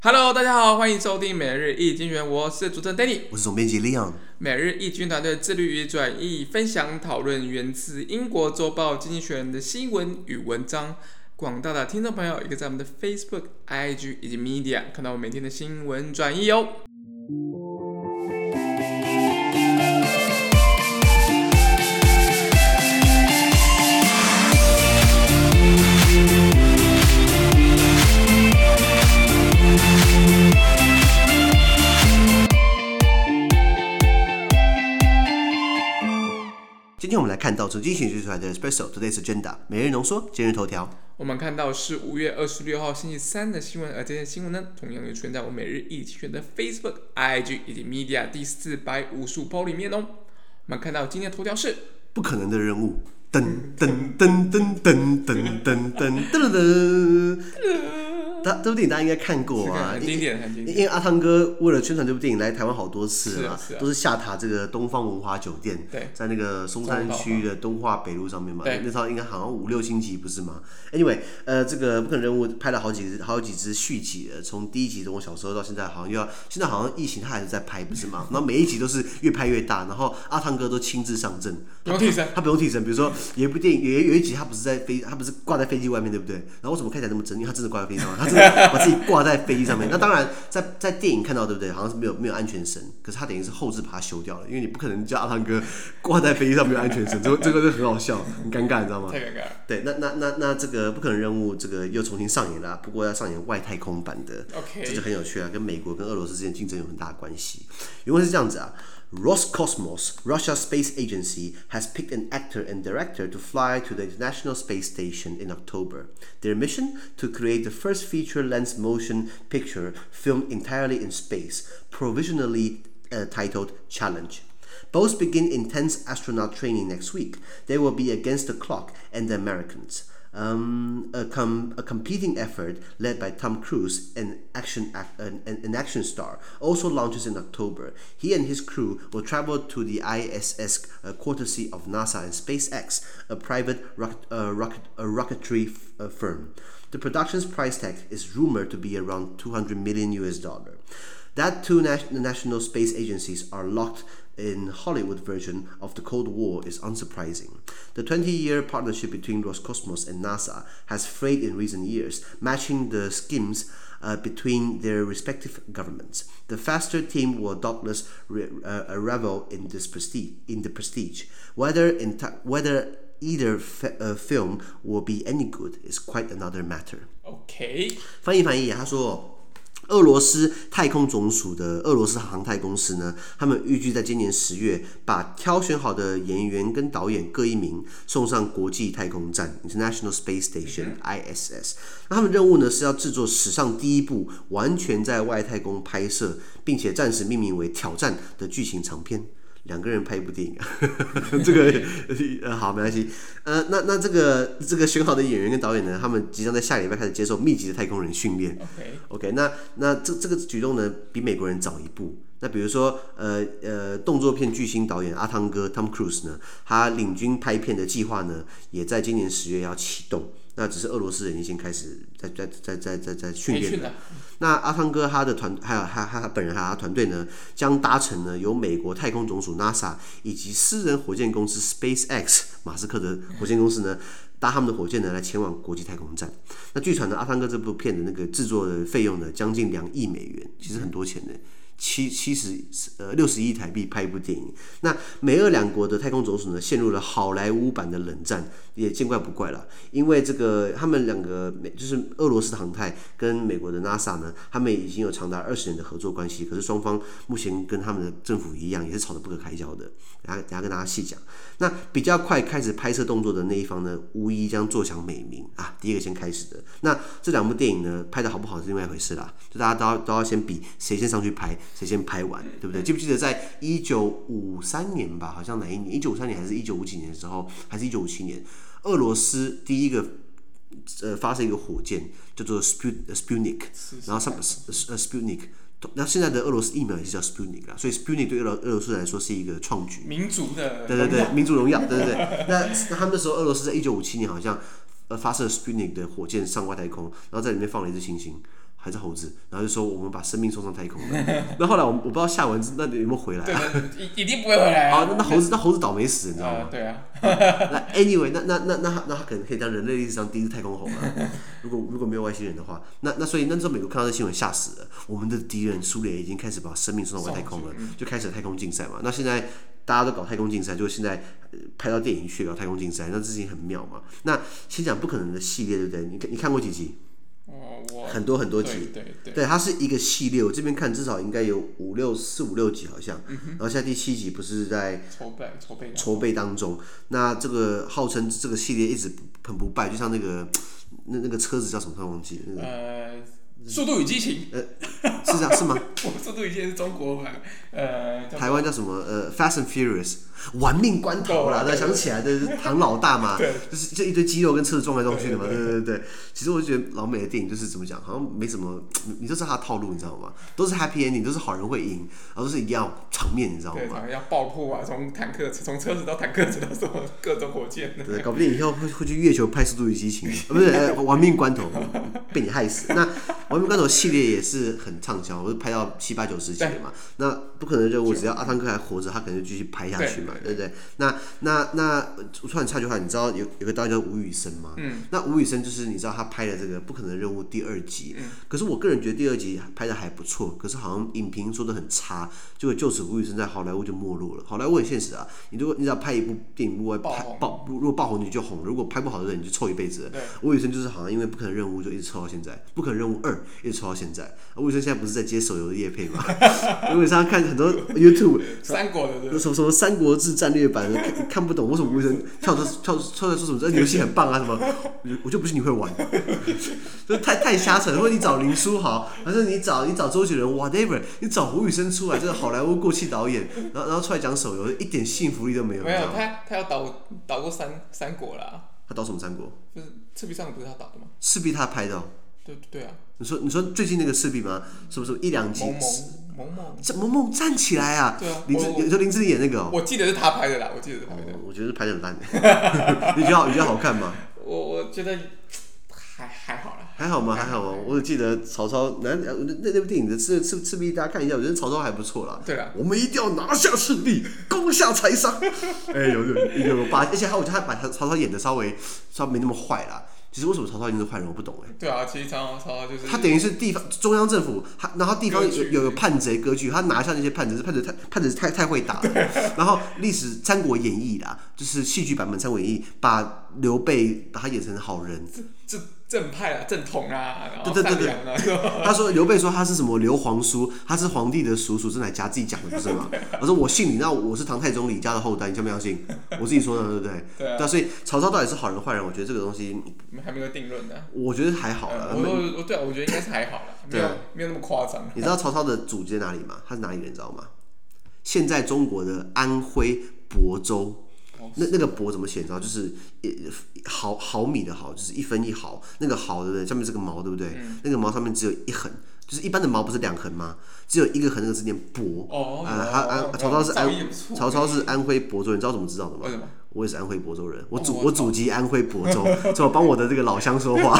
Hello， 大家好，歡迎收聽每日一經濟學人，我是主持人 Danny， 我是總編輯 Leon。 每日一經團隊致力於轉譯、分享、討論源自英國週報《經濟學人》的新聞與文章。廣大的聽眾朋友，也可以在我們的 Facebook、IG 以及 Media 看到我每天的新聞轉譯哦。 今天我們來看到從經濟學出來的 Espresso Today's Agenda 每日濃縮今日頭條。 我們看到是5月26號星期三的新聞，而這些新聞呢，同樣也出現在我每日一經濟學人的 Facebook、IG 以及 Media 第455 po 裡面哦。我們看到今天的頭條是不可能的任務，噔噔噔噔噔噔噔噔噔。這部電影大家應該看過啊， 很經典，很經典。 因為阿湯哥為了宣傳這部電影來台灣好多次了， 是啊， 都是下榻這個東方文華酒店，在那個松山區的東華北路上面嘛。那時候應該好像5、6星級不是嗎 ？Anyway， 這個不可能任務拍了好幾支續集了，從第一集從我小時候到現在，好像現在好像疫情他還是在拍不是嗎？然後每一集都是越拍越大，然後阿湯哥都親自上陣， 不用替身， 他不用替身。比如說有一部電影有一集他不是掛在飛機外面，对不对？然後為什麼看起來那麼真？因為他真的掛在飛機上面，他真的把自己掛在飛機上面。那當然在電影看到，對不對？好像是沒有安全繩，可是他等於是後置把它修掉了，因為你不可能叫阿湯哥掛在飛機上沒有安全繩，這個就很好笑，很尷尬，你知道嗎？ 太尷尬了。對， 那這個不可能任務这個又重新上演了，不過要上演外太空版的，這就很有趣啊，跟美國跟俄羅斯之間競爭有很大的關係。原文是這樣子啊。Roscosmos, Russia's space agency, has picked an actor and director to fly to the International Space Station in October. Their mission? To create the first feature-length motion picture filmed entirely in space, provisionally titled Challenge. Both begin intense astronaut training next week. They will be against the clock and the Americans. A competing effort led by Tom Cruise, an action star, also launches in October. He and his crew will travel to the ISS courtesy of NASA and SpaceX, a private rocketry firm. The production's price tag is rumored to be around $200 million. That two national space agencies are locked in Hollywood version of the Cold War is unsurprising. The 20-year partnership between Roscosmos and NASA has frayed in recent years, matching the schemes between their respective governments. The faster team will doubtless revel in the prestige. Whether either film will be any good is quite another matter. OK， 翻譯，他說。俄羅斯太空總署的俄羅斯航太公司呢，他們預計在今年10月把挑選好的演員跟導演各1名送上國際太空站 International Space Station ISS。那他們任務呢是要制作史上第一部完全在外太空拍攝，並且暫時命名為挑戰的劇情長片。2個人拍一部電影啊，這個好沒關係。那這個選好的演員跟導演呢，他們即將在下禮拜開始接受密集的太空人訓練。OK， 那這個舉動呢，比美國人早一步。那比如說動作片巨星導演阿湯哥 Tom Cruise 呢，他領軍拍片的計劃呢，也在今年10月要啟動。那只是俄羅斯人已經開始在訓練了。那阿湯哥他的還有他本人還有他團隊呢，將搭乘呢由美國太空總署 NASA 以及私人火箭公司 SpaceX 馬斯克的火箭公司呢，搭他們的火箭呢來前往國際太空站。那據傳呢，阿湯哥這部片的那個制作的費用呢，將近$2億，其實很多錢的。60億台幣拍一部電影。那美俄兩國的太空總署呢，陷入了好萊塢版的冷戰，也見怪不怪了。因為這個他們兩個就是俄羅斯的航太跟美國的 NASA 呢，他們已經有長達20年的合作關係。可是雙方目前跟他們的政府一樣，也是吵得不可開交的。等下跟大家細講。那比較快開始拍攝動作的那一方呢，無疑將坐享美名啊。第一個先開始的。那這2部電影呢，拍得好不好是另外一回事啦。就大家都要先比誰先上去拍。誰先拍完，對不對？記不記得在1953年吧？好像哪一年？1953年還是1950幾年的時候，還是1957年？俄羅斯第一個發射一個火箭叫做 Sputnik， 然後Sputnik， 那現在的俄羅斯疫苗也是叫 Sputnik 啦，所以 Sputnik 对俄羅斯來說是一個創舉， 民族的， 對，民族榮耀，對。那他們那時候俄羅斯在1957年好像發射 Sputnik 的火箭上外太空，然後在裡面放了一隻星星。 還是猴子，然後就說我們把生命送上太空了。那後來我不知道下文那有沒有回来啊？ 对，一定不会回来啊。 那猴子倒霉死，你知道嗎？ 对啊。 那 anyway， 那他可能可以当人類歷史上第一次太空猴了。如果沒有外星人的話，所以那時候美國看到這新聞嚇死了。我們的敵人蘇聯已經開始把生命送到外太空了，就開始了太空競賽嘛。那現在大家都搞太空競賽，就现在拍到電影去搞太空競賽，那這事情很妙嘛。那先講不可能的系列，對不對？你看過幾集？很多集，對，它是一個系列。我這邊看至少應該有4、5、6集好像，然後現在第7集不是在籌備當中。那這個號稱這個系列一直很不敗，就像那個車子叫什麼？突然忘記了。那個速度與激情， 是這樣是嗎？ 速度與激情是中國版， 台灣叫什麼？Fast and Furious， 玩命關頭啦！想起來的是唐老大嘛，就是就一堆肌肉跟车子撞來撞去的嘛，对。其實我覺得老美的電影就是怎麼講，好像沒什麼，你都知道他的套路，你知道嗎？都是 happy ending， 都是好人會贏，然後都是一定要場面，你知道嗎？ 對，要爆破啊，從車子到坦克，到什麼各種火箭。 對，搞不定以後會去月球拍《速度與激情》，不是玩命關頭，被你害死。那玩命關頭系列也是很暢銷，我是拍到7、8、9、10集嘛。那不可能任務，只要阿湯哥還活着，他可能就繼續拍下去嘛，對不對？那我突然插句話，你知道有個導演叫吳宇森嗎？那吳宇森就是你知道他拍的這個《不可能任務》第2集，可是我個人覺得第2集拍的還不錯，可是好像影評說的很差，就此吳宇森在好萊塢就沒落了。好萊塢很現實啊，你只要拍一部電影，如果爆紅你就紅了，如果拍不好的人你就臭一輩子了。吳宇森就是好像因為《不可能任務》就一直臭到現在，《不可能任務2》一直臭到現在。吳宇森現在不是在接手游的業配嗎？因為上看很多 YouTube 三國的什麼《三國志戰略版》看不懂，為什麼吳宇森跳出來說什麼這遊戲很棒啊什麼？我就不信你會玩，就太瞎扯了。或者你找林書豪，還是你找周杰倫 ，whatever， 你找吳宇森出來，這個好萊塢過氣導演，然後出來講手遊，一點幸福力都沒有。 沒有，他要導過三國啦。他導什麼三國？ 就是赤壁上不是他導的嗎？ 赤壁他拍的哦。 對啊。 你說最近那個赤壁嗎？是不是1、2集？萌萌站起來啊！ 对啊， 林志玲演那個哦。 我記得是他拍的啦， 我覺得是拍的很爛。你覺得好看嗎？ 我覺得還好啦。 還好嗎？我只記得曹操那部電影的赤壁，大家看一下，我覺得曹操還不錯啦。 對啦， 我們一定要拿下赤壁，攻下柴桑。有把，而且我覺得他把曹操演的稍微沒那麼壞啦。其實為什麼曹操一定是壞人，我不懂哎。 對啊，其實曹操就是他等於是地方中央政府，然後地方有叛賊割據，他拿下那些叛賊太会打了。然後歷史《三國演義》啦，就是戲劇版本《三國演義》，把劉備把他演成好人。 正派啊，正統啊，然後善良啊。 他說劉備說他是什麼劉皇叔，他是皇帝的叔叔，是哪家自己講的不是嗎？我說我信你，那我是唐太宗李家的後代，你相不相信？我自己說的，对不对？ 对啊。 所以曹操到底是好人壞人，我覺得這個東西還沒有定論的。我覺得還好啦。 我覺得應該是還好啦，沒有那麼誇張。 你知道曹操的祖籍在哪裡嗎？他是哪裡人，你知道嗎？現在中國的安徽亳州。那個亳怎麼寫？你知道，就是毫米的毫，就是1分1毫。那個毫對不對？下面是個毛，對不对？那個毛上面只有1橫，就是一般的毛不是2橫嗎？只有一個橫，那個字念亳。曹操是安徽亳州人，你知道怎麼知道的吗？ 為什麼？ 我也是安徽亳州人，我祖籍安徽亳州，所以我幫我的這個老鄉說話。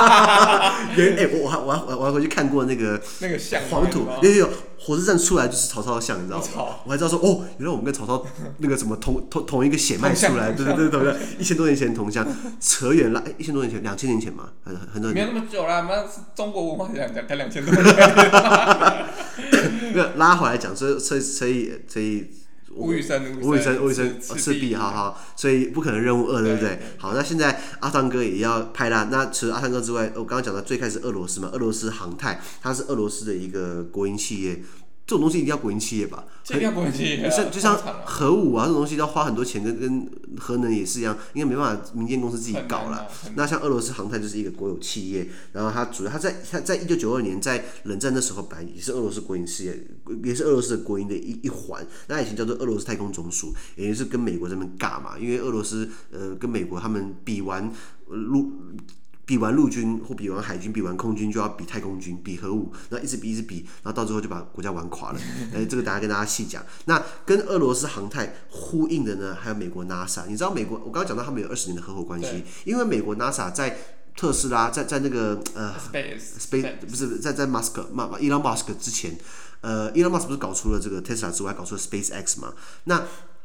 我還回去看過那個像黃土，有火車站出來就是曹操的像，你知道嗎？我還知道說哦，原來我們跟曹操那個什麼同一個血脈出來，对，1000多年前同鄉，扯遠了，1000多年前，2000年前嘛，很多年。 沒有那麼久啦，中國文化才2000多年。 拉回來講，所以。吴宇森赤壁，好，所以不可能任務2，對不對？好，那現在阿湯哥也要拍啦。那除了阿湯哥之外，我剛剛講的最開始俄羅斯嘛，俄羅斯航太，它是俄羅斯的一個國營企業。這種東西一定要國營企業吧？ 這一定要國營企業， 就像核武啊，這種東西要花很多錢，跟核能也是一樣，應該沒辦法民間公司自己搞啦。那像俄羅斯航太就是一個國有企業，然後它在1992年在冷戰的時候，本來也是俄羅斯國營事業，也是俄羅斯的國營的一環。那以前叫做俄羅斯太空總署，也就是跟美國這邊尬嘛，因為俄羅斯跟美國他們比完陸軍或比完海軍，比完空軍就要比太空軍，比核武，然後一直比，然後到最後就把國家玩垮了。這個等下跟大家細講。那跟俄羅斯航太呼應的呢，還有美國 NASA。你知道美國，我剛剛講到他們有20年的合夥關係，因為美國 NASA 在特斯拉在那個 Space 不是在馬斯克Elon Musk 之前，Elon Musk 不是搞出了這個 Tesla 之外，搞出了 SpaceX 嘛？那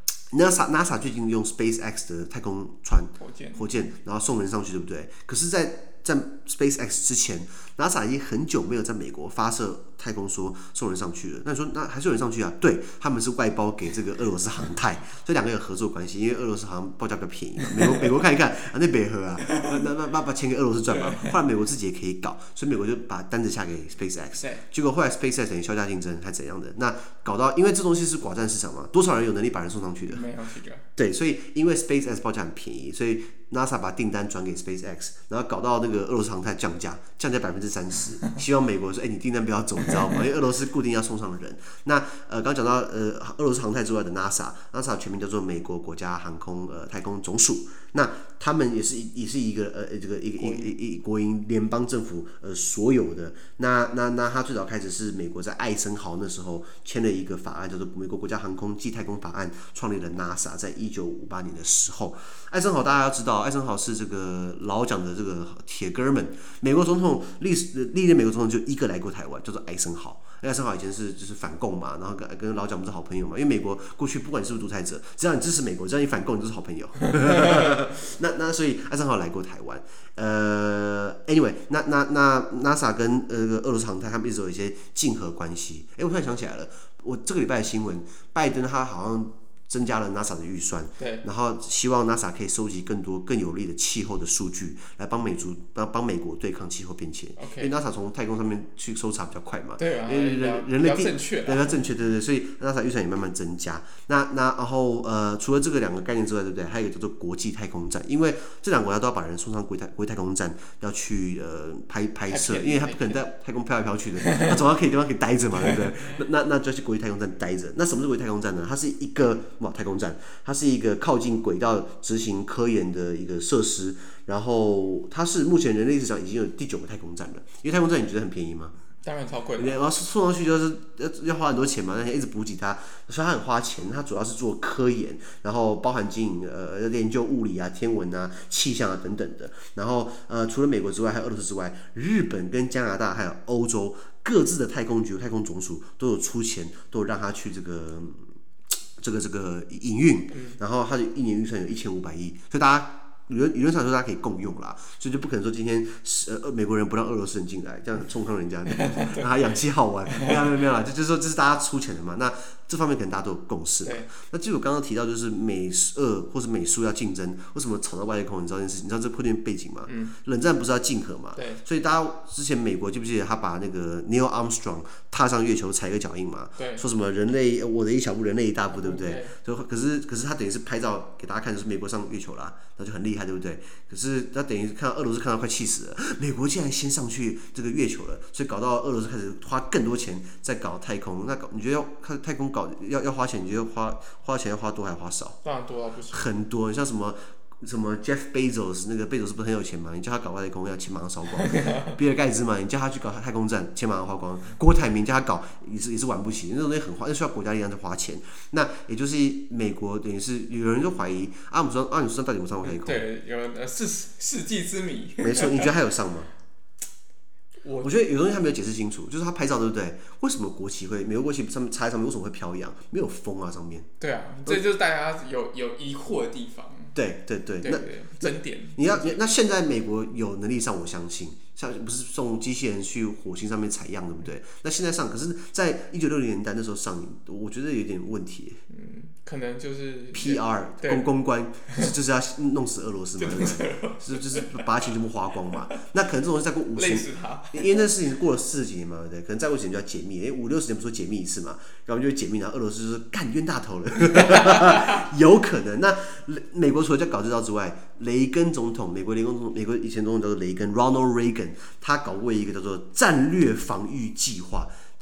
NASA 最近用 SpaceX 的太空船火箭，然後送人上去，对不对？可是在 SpaceX 之前 ，NASA 已经很久没有在美國发射太空说送人上去了。那你说那还是有人上去啊？对，他們是外包給這個俄羅斯航太，所以兩個有合作關係。因為俄羅斯好像報價比較便宜嘛，美國看一看啊，那北河啊，那把錢給俄羅斯賺嘛。後來美國自己也可以搞，所以美國就把單子下給 SpaceX。結果後來 SpaceX 等於削價競爭還怎樣的？那搞到因為這東西是寡占市場嘛，多少人有能力把人送上去的？ 沒有幾個。對， 所以因為 SpaceX 報價很便宜，所以 NASA 把訂單轉給 SpaceX， 然後搞到那個俄羅斯航太降價30%，希望美國說，你訂單不要走，你知道嗎？因為俄羅斯固定要送上人。那剛講到俄羅斯航太之外的 NASA 全名叫做美國國家航空太空總署。那他們也是一個這個一國营聯邦政府所有的。那他最早開始是美國在艾森豪那时候簽了一個法案，叫做美國國家航空暨太空法案，創立了 NASA， 在1958年的時候。艾森豪大家要知道，艾森豪是這個老蔣的這個鐵哥們。美國總統歷任美國總統就一個來過台灣，叫做艾森豪。艾森豪以前就是反共嘛，然後跟老蔣不是好朋友嘛。因為美國過去不管你是不是獨裁者，只要你支持美國，只要你反共，你就是好朋友。那所以艾森豪來過台灣。anyway， 那 NASA 跟俄羅斯航太他們一直有一些競合關係。我突然想起來了，我這個禮拜的新聞，拜登他好像增加了 NASA 的預算，然後希望 NASA 可以收集更多更有利的气候的數據，來幫美國對抗氣候變遷。因為 NASA 從太空上面去搜查比較快嘛， 對啊， 人類比較正確， 比較正確，對，所以 NASA 預算也慢慢增加。然後除了這個兩個概念之外，對不對？還有一個叫做國際太空站，因為這兩個國家都要把人送上國際太空站，要去拍攝，因為他不可能在太空飄來飄去的，他總要可以地方可以待着嘛，對不對？那就要去國際太空站待着。那什麼是國際太空站呢？它是一個太空站，它是一個靠近軌道執行科研的一個設施，然後它是目前人類歷史上已經有第9個太空站了。因為太空站你覺得很便宜嗎？當然超貴的，然後送上去就是要花很多錢嘛，那一直補給它，所以它很花錢。它主要是做科研，然後包含經營研究物理啊、天文啊、氣象啊等等的。然後除了美國之外，還有俄羅斯之外，日本跟加拿大還有歐洲各自的太空局、太空總署都有出錢，都有讓他去这個營運，然後他的一年預算有1500億，所以大家理論上說大家可以共用啦，所以就不可能說今天美國人不讓俄羅斯人進來，這樣衝康人家，讓他氧氣好玩，沒有啦，就是說這是大家出錢的嘛。那這方面可能大家都有共識嘛。那就我剛剛提到，就是美俄或是美蘇要競爭，為什麼吵到外太空？你知道這件事情？你知道這破點背景嗎？冷戰不是要競合嘛？所以大家之前美國記不記得他把那個 Neil Armstrong 踏上月球踩個腳印嘛？說什麼人類我的一小步，人類一大步，對不對？可是他等於是拍照給大家看，就是美國上月球啦，那就很厲害，對不對？可是他等於看到俄羅斯看到快氣死了，美國竟然先上去這個月球了，所以搞到俄羅斯開始花更多錢在搞太空。那你覺得要看太空搞要花錢，你觉得花錢要花多還花少？當然多到不行。很多，你像什麼 Jeff Bezos， 那個貝佐斯不是很有錢嘛？你叫他搞外太空，要錢馬上燒光。比爾蓋茨嘛，你叫他去搞太空站，錢馬上花光。郭台銘叫他搞，也是玩不起，那種東西很花，那需要國家力量去花錢。那也就是美國等於是有人就懷疑阿姆斯特朗到底有沒有上過太空？对，有世紀之謎。沒錯，你覺得他有上嗎？我覺得有東西他沒有解釋清楚，就是他拍照对不對？為什麼國旗會美國國旗上面插在上面，為什麼會飄揚？沒有風啊上面。對啊，這就是大家有疑惑的地方。對，那爭點。那現在美國有能力上，我相信，像不是送機器人去火星上面採樣，對不對？那現在上，可是，在1960年代那時候上，我覺得有點問題。可能就是 PR 公關，就是要弄死俄羅斯嘛，對不對？就是把錢全部花光嘛。那可能這種事再過50年，因為那事情過了40幾年嘛，对不对？可能再過幾年就要解密，因為50-60年不是說解密一次嘛，然後就會解密，然後俄羅斯就是幹冤大頭了，有可能。那美國除了在搞這招之外，雷根總統，美國以前總統叫做雷根 （Ronald Reagan），他搞過一個叫做戰略防禦計劃。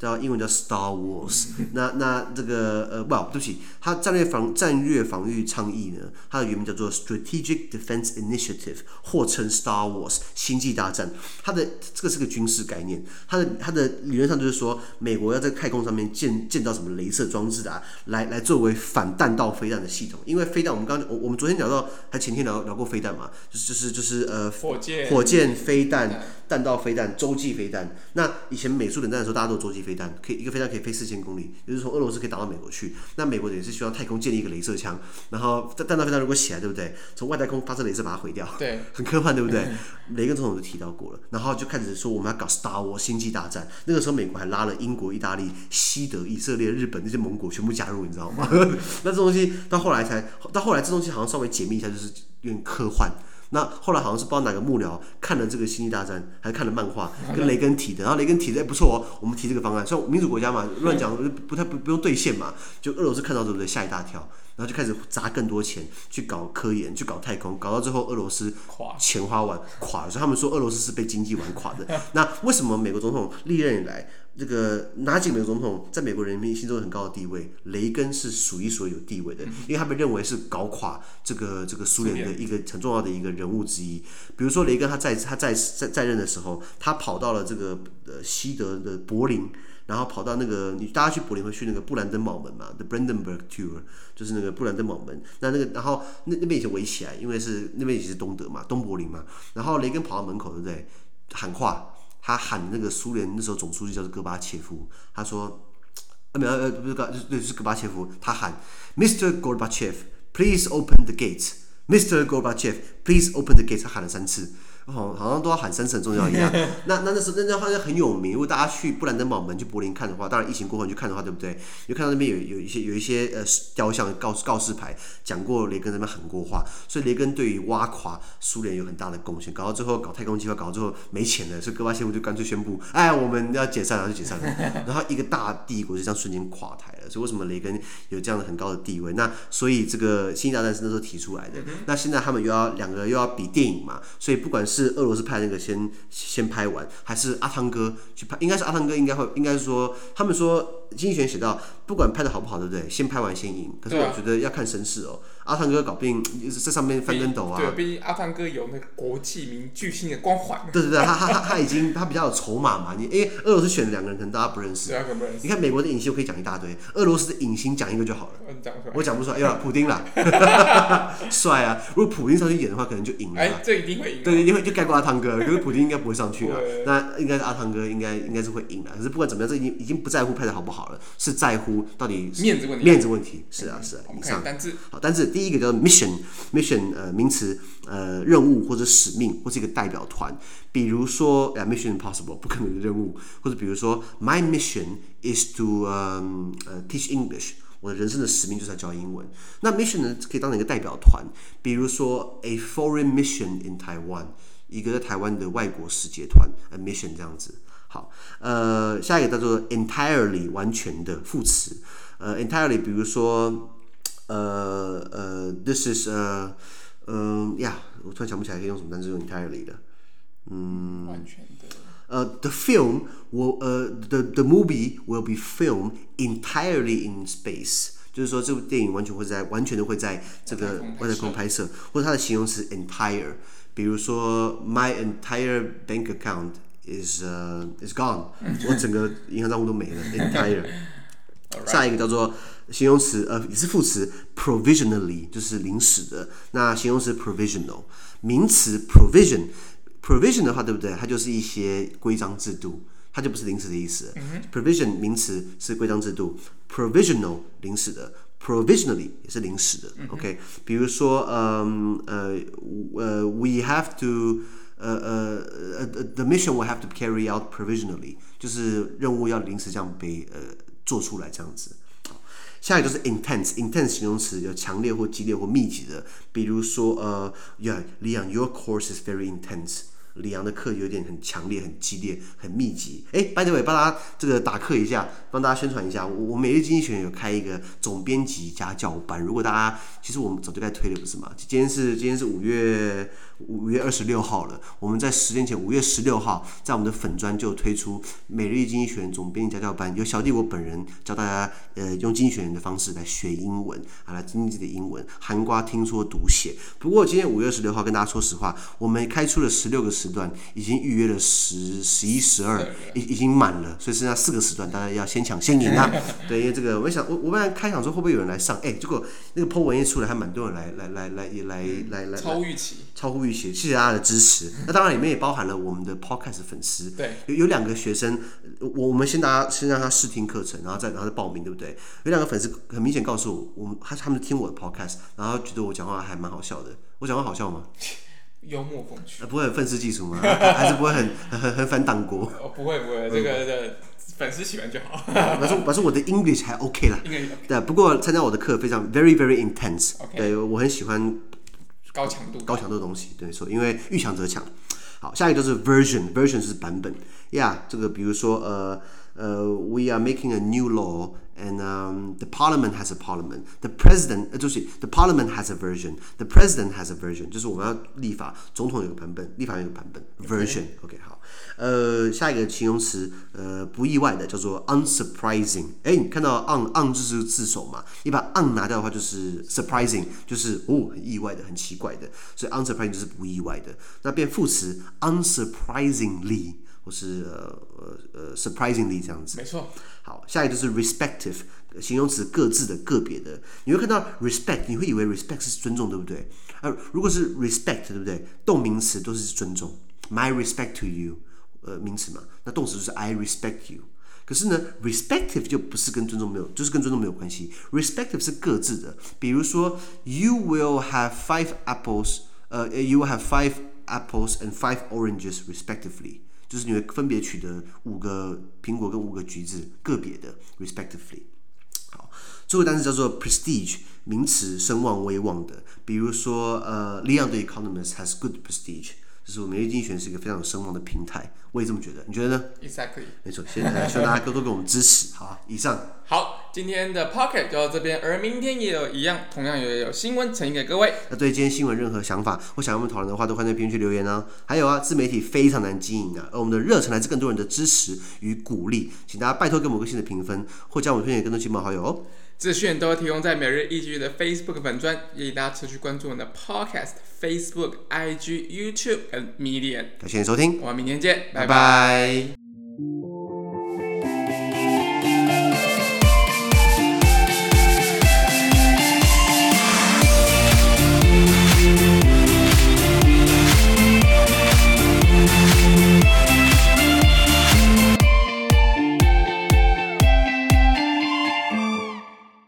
英文叫 Star Wars 那这个对不起，它战略防御倡議呢，它的原名叫做 Strategic Defense Initiative， 或稱 Star Wars 星際大戰。它的這個是個軍事概念，它的理論上就是說，美國要在太空上面建造什麼雷射裝置啊，來作為反彈道飛彈的系統。因為飛彈，我們昨天聊到，還前天聊過飛彈嘛，就是火箭飛彈、彈道飛彈、洲際飛彈。那以前美蘇冷戰的時候，大家都有洲際飛彈，一個飛彈可以飛4000公里，就是從俄羅斯可以打到美國去。那美國也是希望太空建立一個雷射槍，然後彈道飛彈如果起來，對不對？從外太空發射雷射把它毀掉，對，很科幻，對不對？雷根總統就提到過了，然後就開始說我們要搞 Star Wars 星際大戰。那個時候美國還拉了英國、意大利、西德、以色列、日本那些盟國全部加入，你知道嗎？那這東西到後來這東西好像稍微解密一下，就是有點科幻。那後來好像是不知道哪個幕僚看了這個《星際大戰》，還是看了漫畫，跟雷根提的。然後雷根提的不錯哦，我們提這個方案，雖然民主國家嘛，亂講不用兌現嘛。就俄羅斯看到對不對？嚇一大跳，然後就開始砸更多錢去搞科研，去搞太空，搞到最後俄羅斯錢花完垮了。所以他們說俄羅斯是被經濟玩垮的。那為什麼美國總統歷任以來，這個哪幾個美國總統在美國人民心中有很高的地位？雷根是數一數二有地位的，因為他被認為是搞垮這個蘇聯的一個很重要的一個人物之一。比如說雷根他在任的時候，他跑到了這個西德的柏林，然後跑到那個大家去柏林會去那個布蘭登堡門嘛 ，The Brandenburg Tour， 就是那個布蘭登堡門。然後那邊已經圍起來，因為那邊也是東德嘛，東柏林嘛。然後雷根跑到門口，對不對？喊話。他喊那個蘇聯那時候總書記叫做戈巴切夫，他說，不是，是戈巴切夫，他喊 Mr. Gorbachev, please open the gates. Mr. Gorbachev, please open the gates. 他喊了3次。好像都要喊3次很重要一樣。那时候那好像很有名。如果大家去布蘭登堡門去柏林看的話，當然疫情過後你去看的話，對不對？你就看到那邊有一些雕像告示牌，講過雷根那邊喊過話。所以雷根對於挖垮蘇聯有很大的貢獻。搞到最後搞太空計劃，搞到最後沒錢了，所以戈巴切夫就乾脆宣布，我們要解散了，就解散了。然後一個大帝國就這樣瞬間垮台了。所以為什麼雷根有這樣的很高的地位？那所以這個星際大戰是那時候提出來的。那現在他們兩個又要比電影嘛，所以不管是俄羅斯派那個先拍完，還是阿湯哥去拍？應該是阿湯哥，應該是說，他們說經濟學人寫到，不管拍的好不好，對不對？先拍完先贏。可是我覺得要看聲勢哦。阿湯哥搞不定在上面翻跟斗啊。對，畢竟阿湯哥有那個國際名巨星的光環。對，他比較有籌碼嘛。因為俄羅斯選了2個人，可能大家不認識。你看美國的影星我可以講一大堆，俄羅斯的影星講一個就好了。我講不出來，普丁啦，帥啊！如果普丁上去演的話，可能就贏了。這一定會贏。對，一定會就蓋過阿湯哥，可是普丁應該不會上去了。那應該是阿湯哥，應該是會贏的。可是不管怎麼樣，這已經不在乎拍的好不好了，是在乎到底面子問題。是啊。以上好單字。第一個叫 mission， 名詞，任務或者使命或是一個代表團。比如說Mission Impossible 不可能的任務，或者比如說 My mission is to teach English， 我的人生的使命就是要教英文。那 mission 呢可以當成一個代表團，比如說 A foreign mission in Taiwan， 一個在台灣的外國使節團 ，a mission 這樣子。好，下一個叫做 entirely 完全的副詞，entirely 比如說。This is我突然想不起來可以用什麼單詞用 entirely 的，完全的。The film the movie will be filmed entirely in space， 就是說這部電影完全的會在這個外太空拍攝，或者它的形容詞 entire， 比如說 My entire bank account is gone， 我整個銀行賬戶都沒了 entire。下一個叫做形容詞，也是副詞 provisionally， 就是臨時的。那形容詞 provisional， 名詞 provision 的話，對不對？它就是一些規章制度，它就不是臨時的意思。provision 名詞是規章制度 ，provisional 臨時的 ，provisionally 也是臨時的。OK， 比如說we have to the mission will have to carry out provisionally， 就是任務要臨時這樣被做出來這樣子。下一個就是 intense 形容詞，有強烈或激烈或密集的。比如說Leon your course is very intense， 李陽的課有點很強烈、很激烈、很密集。by the way， 幫大家這個打課一下，幫大家宣傳一下。我每日經濟學人有開一個總編輯家教班，如果大家其實我們早就該推了，不是嗎？今天是5月 5月26號了。我們在10天前5月16號，在我們的粉專就推出每日一經濟學人總編輯家教班，由小弟我本人教大家用經濟學人的方式來學英文來精進自己的英文，含括聽說讀寫。不過今天5月16號跟大家說實話，我們開出了16個時段，已經預約了10、11、12，已經滿了，所以剩下4個時段，大家要先搶先贏啊！對，因為這個我本來開場說会不會有人來上，結果那個 po 文一出來，還蠻多人來超乎預期，謝謝大家的支持。那當然裡面也包含了我們的 podcast 粉絲， 對， 有2個學生，我們先讓他試聽課程，然後再報名，對不對？有2個粉絲很明顯告訴我，他們聽我的 podcast， 然後覺得我講話還蠻好笑的。我講話好笑嗎？ 幽默風趣， 不會很憤世嫉俗嗎？還是不會很反黨國？ 不會，這個粉絲喜歡就好。 反正我的 English 還 OK 啦。對，不過參加我的課非常 very intense。對，我很喜歡高強度的東西。對，因為遇強則強。好，下一個就是 version 是版本。这個比如說we are making a new law and the parliament has a parliament. The parliament has a version. The president has a version. 就是我们要立法，总統有個版本，立法有個版本 version。OK， 好。下一個形容詞不意外的叫做 unsurprising。你看到 on 就是字首嘛，你把 on 拿掉的話就是 surprising， 就是很意外的，很奇怪的，所以 unsurprising 就是不意外的。那变副詞 unsurprisingly。或是surprisingly 這樣子， 沒錯。 好，下一個就是 respective， 形容詞各自的、個別的。你會看到 respect， 你會以為 respect 是尊重，對不對？如果是 respect， 对不對？動名詞都是尊重 ，my respect to you， 名詞嘛。那動詞就是 I respect you。可是呢 ，respective 就不是跟尊重沒有，就是跟尊重沒有關係。respective 是各自的，比如說 you will have 5 apples， you will have 5 apples and 5 oranges respectively。就是你会分別取得5個蘋果跟5個橘子，個別的 respectively。好，最後單詞叫做 prestige， 名詞，聲望、威望的。比如說Leon the Economist has good prestige， 就是我们每日經濟學人是一個非常有聲望的平台。我也這麼覺得，你覺得呢 ？Exactly。沒錯， 希望大家多多給我們支持。好，以上。 好，今天的 Pocket 就到這邊，而明天也有一樣，同樣也有新聞呈現給各位。 那對今天新聞任何想法或想要我們討論的話，都歡迎在評論區留言哦。還有自媒體非常難經營而我們的熱忱來自更多人的支持與鼓勵，請大家拜託給我們個新的評分，或將我們推薦給更多親朋好友哦。資訊都會提供在每日一句的 Facebook 粉專，建議大家持續關注我們的 Podcast、Facebook、IG、YouTube 跟 Medium。 感謝你收聽， 我們明天見，拜拜。